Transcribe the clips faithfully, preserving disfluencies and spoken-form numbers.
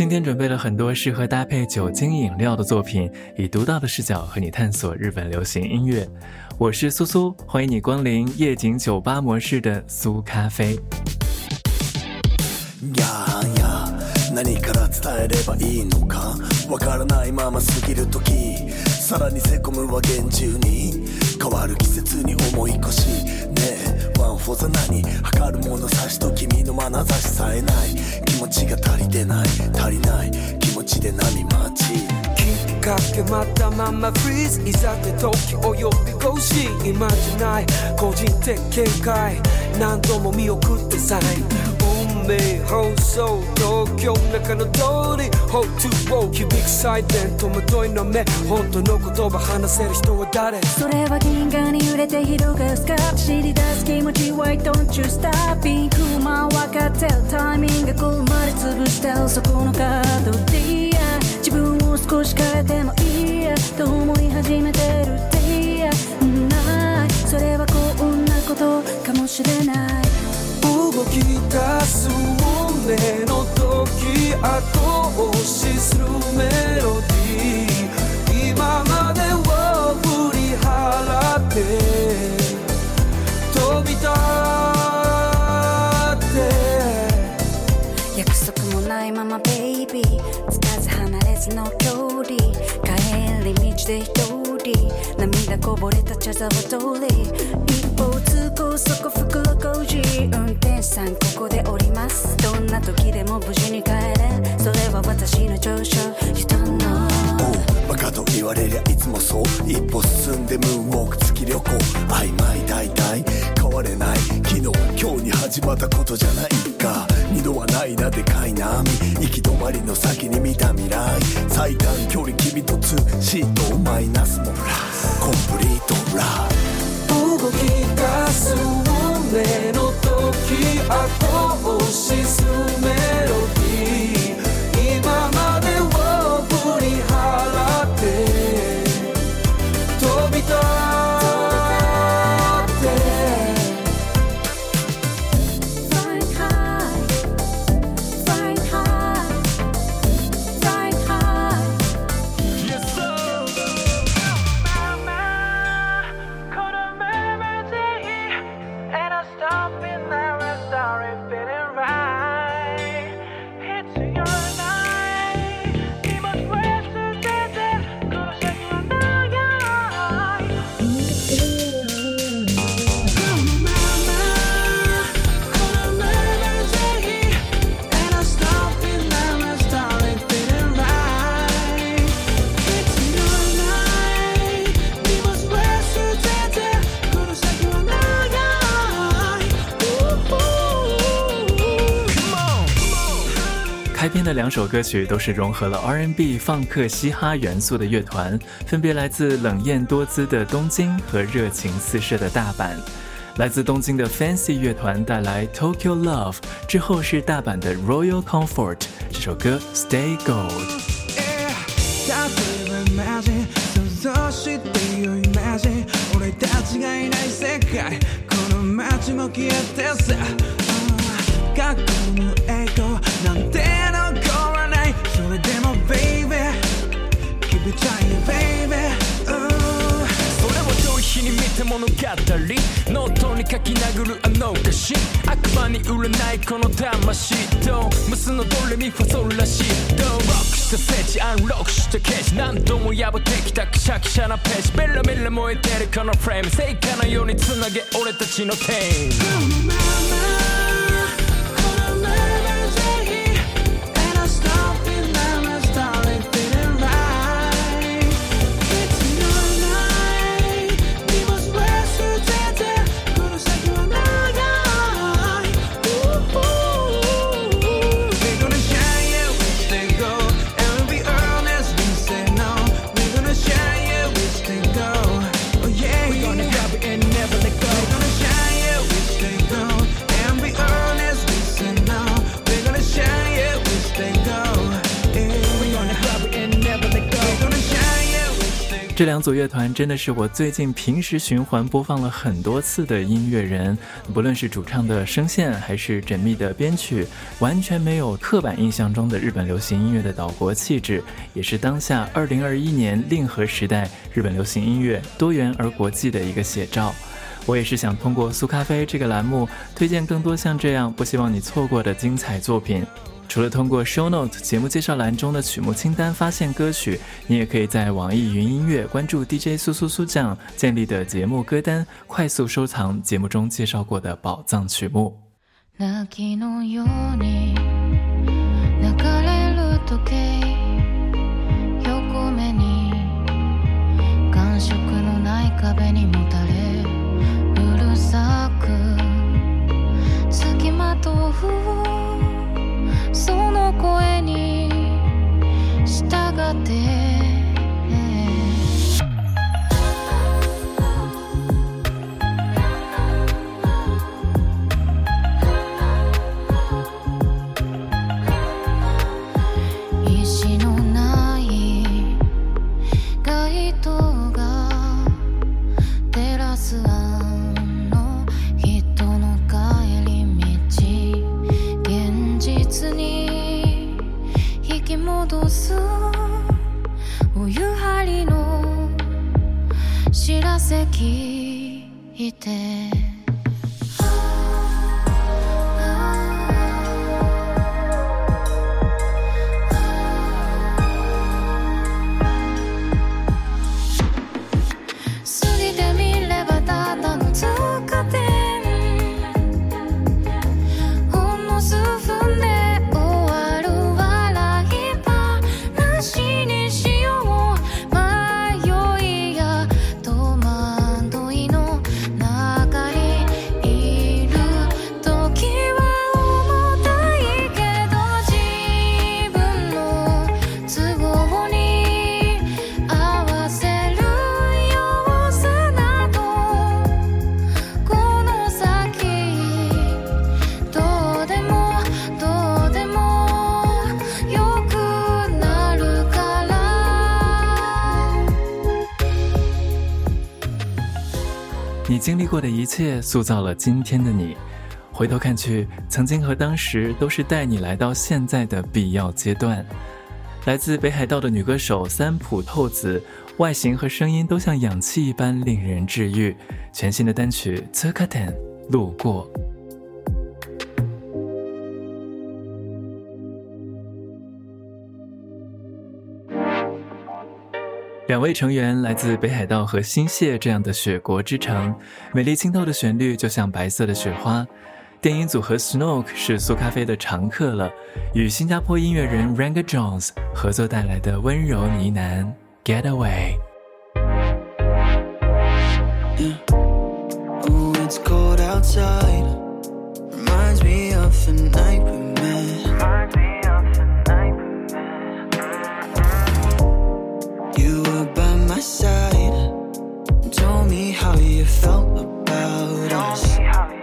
今天准备了很多适合搭配酒精饮料的作品，以独到的视角和你探索日本流行音乐。我是苏苏，欢迎你光临夜景酒吧模式的苏咖啡。 やや何から伝えればいいのかわからないまま過ぎる時、さらにせこむは厳重に変わる季節に思い越しねえワンフォーザ何測る物差しと君の眼差しさえない気持ちが足りてない足りない気持ちで波待ちきっかけまたままフリーズいざって時を呼び越し今じゃない個人的見解何度も見送ってさえ運命放送東京中の通り ホットウォー響くサイレン戸惑いの目本当の言葉話せる人は誰それは銀河に揺れて広がるスカート知り出す気持ち Why don't you stop ピンクマン分かってるタイミング来るまで潰してるそこのカードでいいや自分を少し変えてもいいやと思い始めてるっていいやないそれはこんなことかもしれない動き出す運命の時後押しするメロディー今までを振り払って飛び立って約束もないままベイビーつかず離れずの距離帰り道で一人涙こぼれた茶沢通り一方通行そこ袋小路運転手さんここで降りますどんな時でも無事に帰れそれは私の長所 You don't know バカと言われりゃいつもそう一歩進んでムーンウォーク月旅行曖昧大体変われない昨日今日に始まったことじゃないか二度はないなでかい波行き止まりの先に見た未来最短距離君とツーシートマイナスもプラスコンプリートラブ動き出す運命の時後押しするメロディー今までを振り払って飛び立って Flying high Flying high Flying high Yes sir Mama caught a melody and I stop in there and started feeling right It's your night We must rest together Gonna shake your night Mama caught a melody and I stop in there and started feeling right It's your night We must rest together Gonna shake your night Come on 开篇的两首歌曲都是融合了 R and B 放克嘻哈元素的乐团，分别来自冷艳多姿的东京和热情四射的大阪。来自东京的 Fancy 乐团带来 Tokyo Love， 之後是大阪的 Royal Comfort， 这首歌 Stay Gold。 例えばマジ想像してよイマジン俺たちがいない世界この街も消えてさ過去の栄光なんて残らないそれでも Baby Keep it trying Baby それを逃避に見て物語ノートに書き殴るあの歌詞悪魔に売れないこの魂とムスのドレミファソラシドロックした聖地アンロックしたケージ何度も破ってきたくしゃくしゃなページベラベラ燃えてるこのフレーム聖火のようにつなげ俺たちのテーマ这两组乐团真的是我最近平时循环播放了很多次的音乐人，不论是主唱的声线还是缜密的编曲，完全没有刻板印象中的日本流行音乐的岛国气质，也是当下二零二一年令和时代日本流行音乐多元而国际的一个写照。我也是想通过苏咖啡这个栏目推荐更多像这样不希望你错过的精彩作品。除了通过 Show Note 节目介绍栏中的曲目清单发现歌曲，你也可以在网易云音乐关注 D J 苏苏苏酱建立的节目歌单，快速收藏节目中介绍过的宝藏曲目。 泣きのように流れる時計、横目に感触のない壁にもたれうるさくつきまとうその声に従って石のない街灯が照らすあの人の帰り道、現実に引き戻すお湯張りの知らせ聞いて你经历过的一切塑造了今天的你，回头看去，曾经和当时都是带你来到现在的必要阶段。来自北海道的女歌手三浦透子，外形和声音都像氧气一般令人治愈。全新的单曲 Tsukaten 路过。两位成员来自北海道和新泻这样的雪国之城，美丽清透的旋律就像白色的雪花。电音组合 Snoke 是苏咖啡的常客了，与新加坡音乐人 Ranga Jones 合作带来的温柔呢喃 Getaway。 Yeah. Oh, it's cold outside. Reminds me of the night we met. You were by my side, told me how you felt about us.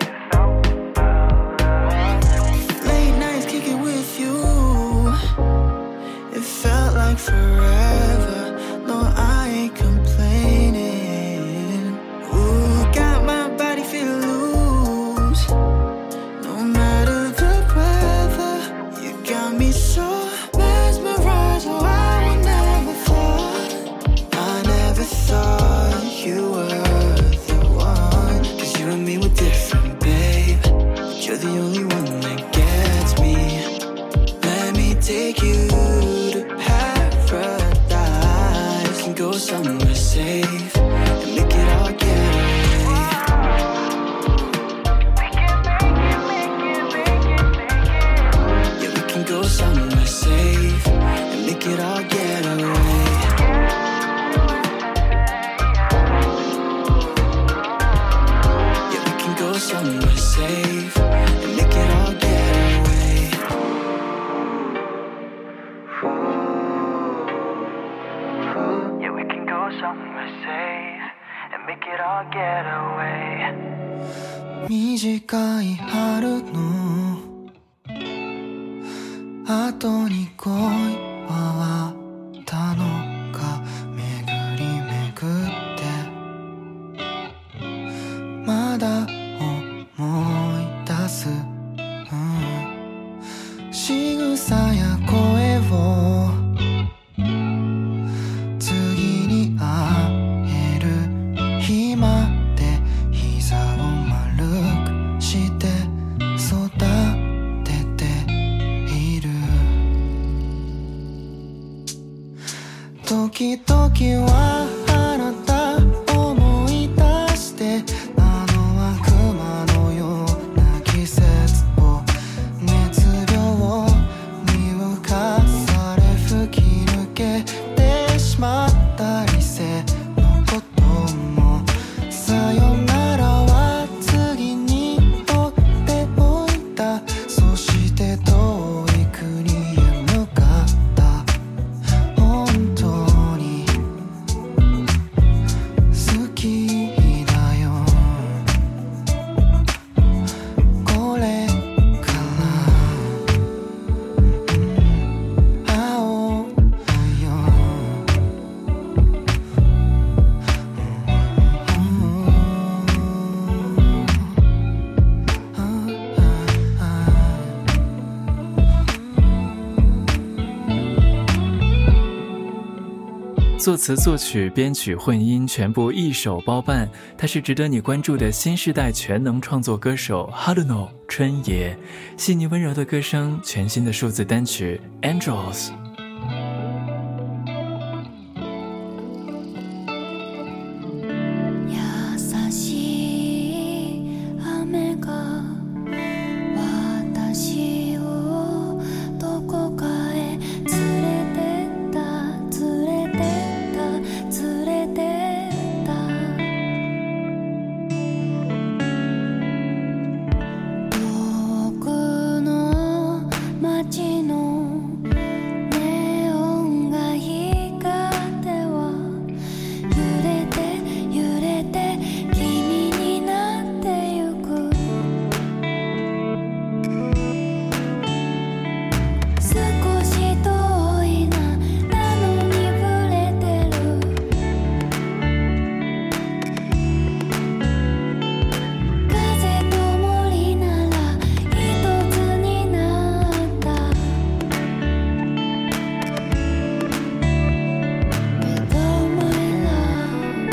Late nights kicking with you, it felt like forever. No, I ain't complaining. Ooh, got my body feeling loose. No matter the weather, you got me so mesmerized. Oh, I would never thought, I never thought you were the one. Cause you and me were different, babe, but you're the only one that gets me. Let me take you to paradise and go somewhere safe and make it all getaway. Yeah, we can go somewhere safe and make it all getaway. Yeah, we can go somewhere safe and make it all getaway. Yeah, we can go somewhere safe and make it all getaway. 短い春の後に恋はあったのか、巡り巡まだ思い出す、うん、仕草や声を次に会える日まで膝を丸くして育てている。時々はあなた思い出してあの悪魔のような季節を熱病に浮かされ吹き抜けてしまった理性のこともさよならは次にとっておいた。そして遠い国へ向かった。本当に好きだよ。これから会おうよ。 作词、作曲、编曲、混音全部一手包办，他是值得你关注的新世代全能创作歌手 Haruno 春野，细腻温柔的歌声，全新的数字单曲 Angels。 優しい雨が私をどこかへ連れてった連れてった連れてった遠くの街のネオンが光っては揺れて揺れて君になってゆく。少し遠いななのに触れてる。風と森なら一つになった。Without my love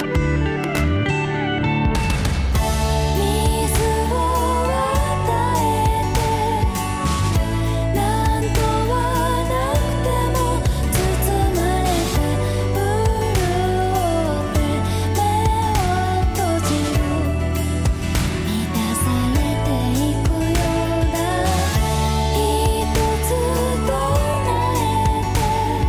水を与えてなんとはなくても包まれて潤って目を閉じる。満たされていくようだ。一つ唱えて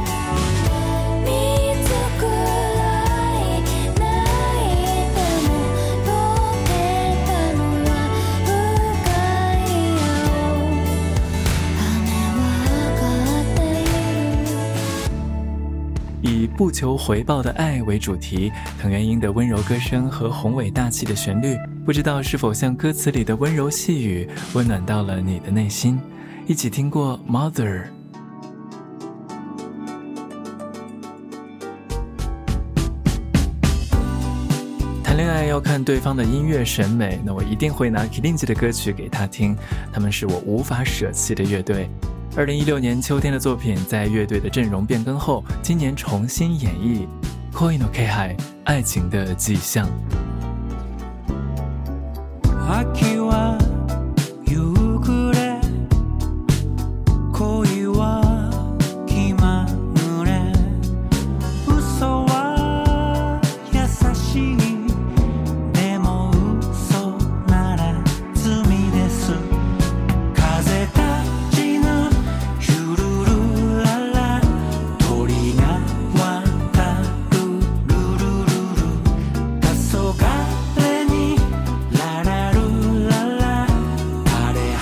見つくらい泣いても溶けたのは深い青。雨は上がっている。 以不求回报的爱为主题，藤原英的温柔歌声和宏伟大气的旋律，不知道是否像歌词里的温柔细语，温暖到了你的内心。一起听过 Mother。谈恋爱要看对方的音乐审美，那我一定会拿 Kilinji 的歌曲给他听，他们是我无法舍弃的乐队。二零一六年秋天的作品，在乐队的阵容变更后，今年重新演绎《恋の気配》爱情的迹象。 秋は夕暮れ恋は気まぐれ嘘は優しいでも嘘なら罪です風立ちぬゆるるらら鳥が渡るるるるる黄昏にララルララ枯れ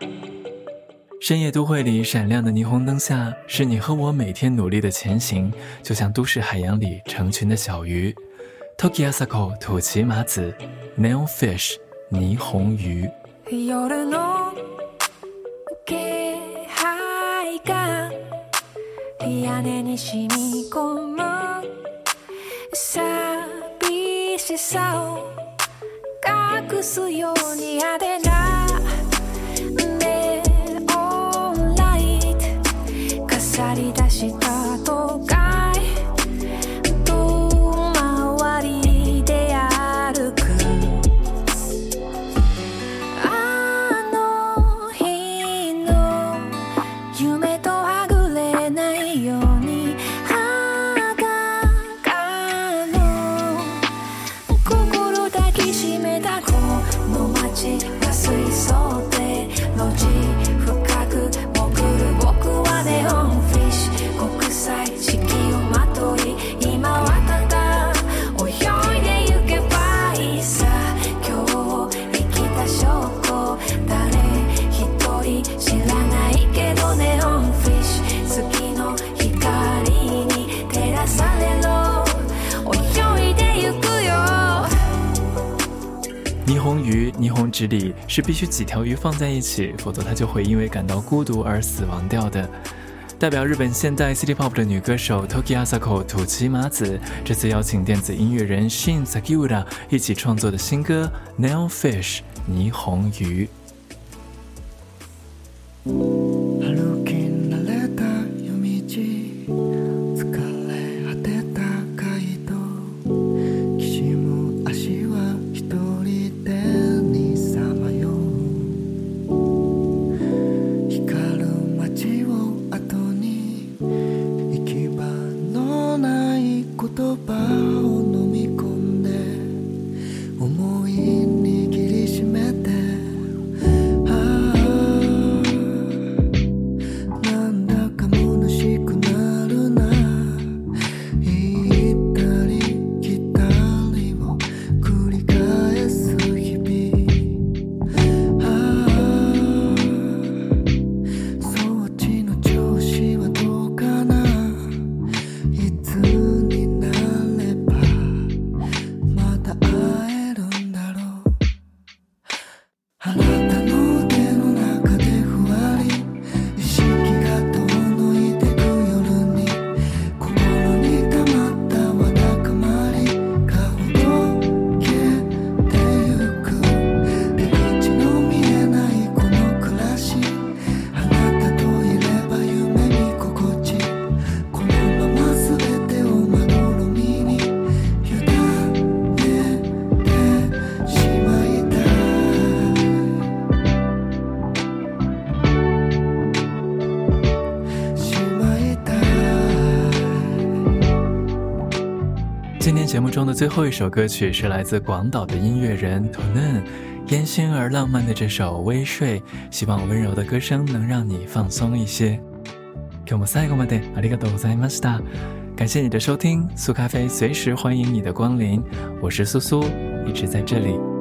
深夜都会里闪亮的霓虹灯下，是你和我每天努力的前行，就像都市海洋里成群的小鱼。Toki Asako 土岐麻子 Neon Fish 霓虹鱼。 夜の気配が屋根に染み込む寂しさを隠すように派手なネオンライト飾り出した都会遠回りで歩くあの日の夢とはぐれないように裸の心抱きしめたこの街が水槽で路地深く潜る僕はネオンフィッシュ国際式をまとい今はただ泳いでゆけばいいさ今日生きた証拠誰一人知らないけどネオンフィッシュ月の光に照らされろ泳いでゆくよ。 霓虹鱼霓虹直里是必须几条鱼放在一起，否则它就会因为感到孤独而死亡掉的。代表日本现代 City Pop 的女歌手 Toki Asako 土岐麻子，这次邀请电子音乐人 Shin Sakiura 一起创作的新歌 Neon Fish 霓虹鱼。 歩き慣れた夜道疲れ果てた街道きしむ足は一人でにさまよう光る街を後に行き場のない言葉を飲み込んで思い握りしめてなんだか虚しくなるな行ったり来たりを繰り返す日々そっちの調子はどうかないつになればまた会えるんだろうあなたの手の中でふわり意識が遠のいてく夜に心に溜まったわだかまりがほどけてゆく出口の見えないこの暮らしあなたといれば夢見心地このまま全てをまどろみに委ねてしまいたいしまいたい今天节目中的最后一首歌曲是来自广岛的音乐人 Tonen 烟熏而浪漫的这首微睡，希望温柔的歌声能让你放松一些。今日も最後までありがとうございました。感谢你的收听，苏咖啡随时欢迎你的光临，我是苏苏，一直在这里。